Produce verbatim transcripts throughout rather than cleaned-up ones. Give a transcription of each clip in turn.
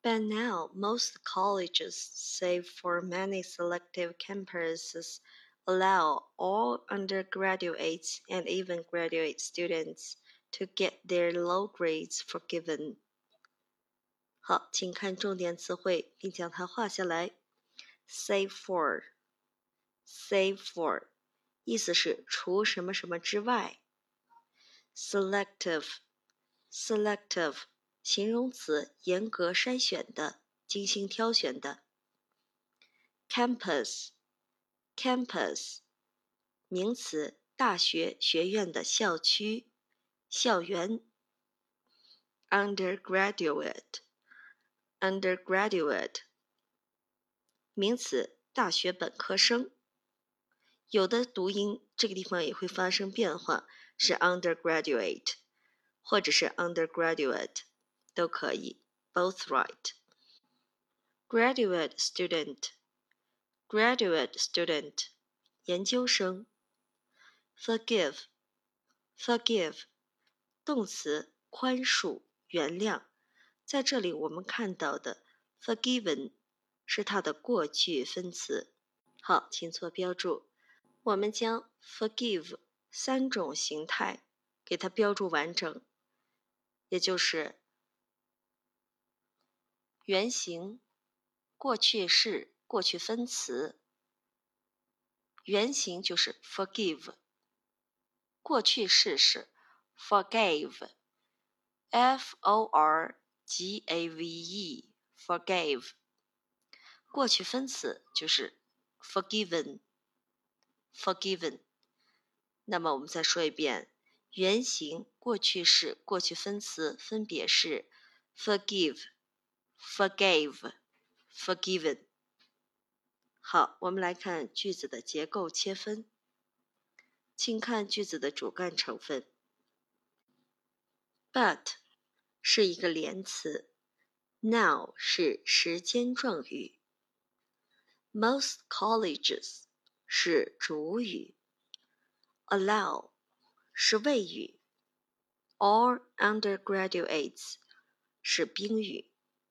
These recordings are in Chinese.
By now, most colleges, save for many selective campuses, allow all undergraduates and even graduate students to get their low grades forgiven. 好，请看重点词汇，并将它画下来。Save for, save for， 意思是除什么什么之外。Selective, selective， 形容词，严格筛选的，精心挑选的。Campus, campus， 名词，大学、学院的校区、校园。Undergraduate, undergraduate， 名词，大学本科生。有的读音这个地方也会发生变化，是 undergraduate 或者是 undergraduate 都可以 both right。 Graduate student, graduate student， 研究生。Forgive, forgive， 动词，宽恕、原谅。在这里我们看到的 forgiven 是它的过去分词。好，请做标注。我们将 forgive 三种形态给它标注完整，也就是原形、过去式、过去分词。原形就是 forgive， 过去式是 forgave， F O R G A V E forgave， 过去分词就是 forgiven forgiven。 那么我们再说一遍，原形、过去式、过去分词分别是 forgive, forgave, forgiven。 好，我们来看句子的结构切分。请看句子的主干成分。 But 是一个连词， Now 是时间状语， Most colleges 是主语， Allow 是谓语， All undergraduates 是宾语。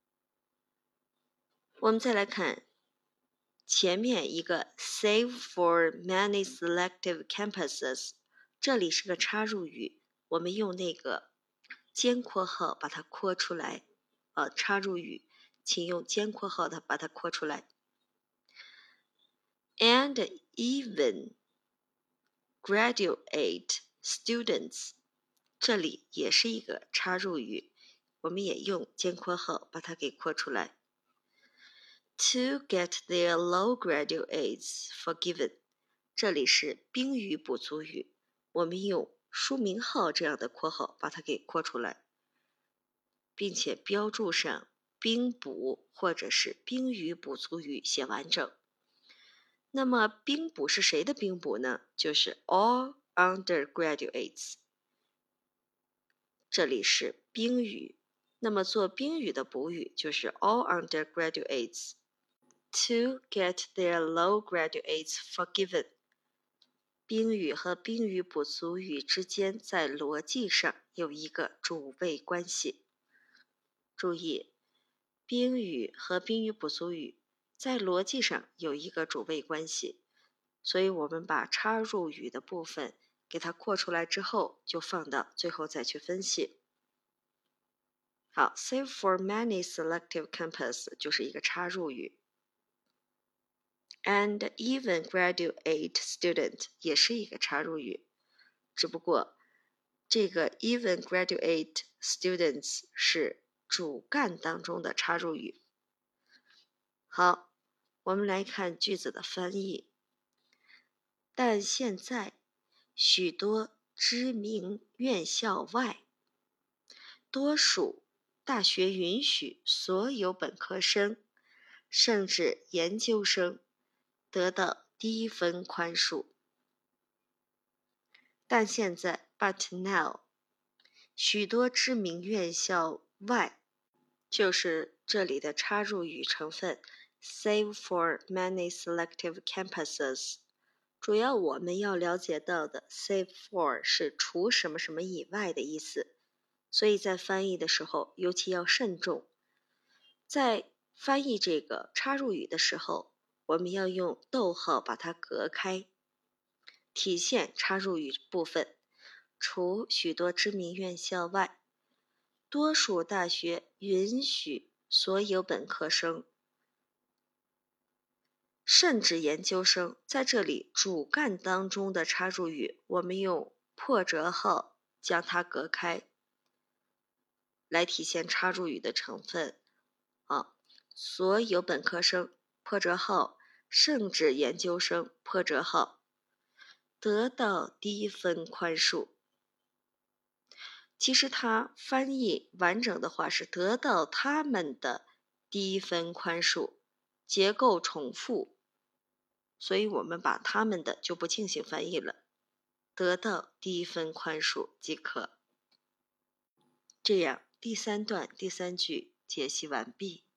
我们再来看前面一个 Save for many selective campuses， 这里是个插入语，我们用那个尖括号把它括出来，呃，插入语，请用尖括号的把它括出来。And even graduate students， 这里也是一个插入语，我们也用尖括号把它给括出来。To get their low graduates forgiven， 这里是宾语补足语，我们用书名号这样的括号把它给括出来，并且标注上宾补或者是宾语补足语写完整。那么宾补是谁的宾补呢？就是 all undergraduates， 这里是宾语，那么做宾语的补语就是 all undergraduates。 To get their low graduates forgiven， 宾语和宾语补足语之间在逻辑上有一个主谓关系。注意，宾语和宾语补足语在逻辑上有一个主谓关系，所以我们把插入语的部分给它括出来之后，就放到最后再去分析。好 ，save for many selective campus 就是一个插入语。And even graduate student 也是一个插入语，只不过这个 even graduate students 是主干当中的插入语。好，我们来看句子的翻译。但现在许多知名院校外，多数大学允许所有本科生甚至研究生得到低分宽恕。但现在 but now， 许多知名院校外，就是这里的插入语成分 save for many selective campuses， 主要我们要了解到的 save for 是除什么什么以外的意思，所以在翻译的时候尤其要慎重。 在翻译这个插入语的时候，我们要用逗号把它隔开，体现插入语部分。除许多知名院校外，多数大学允许所有本科生甚至研究生，在这里主干当中的插入语，我们用破折号将它隔开，来体现插入语的成分。啊，所有本科生破折号，甚至研究生破折号，得到低分宽恕。其实它翻译完整的话是得到他们的低分宽恕，结构重复，所以我们把他们的就不进行翻译了，得到低分宽恕即可。这样第三段第三句解析完毕。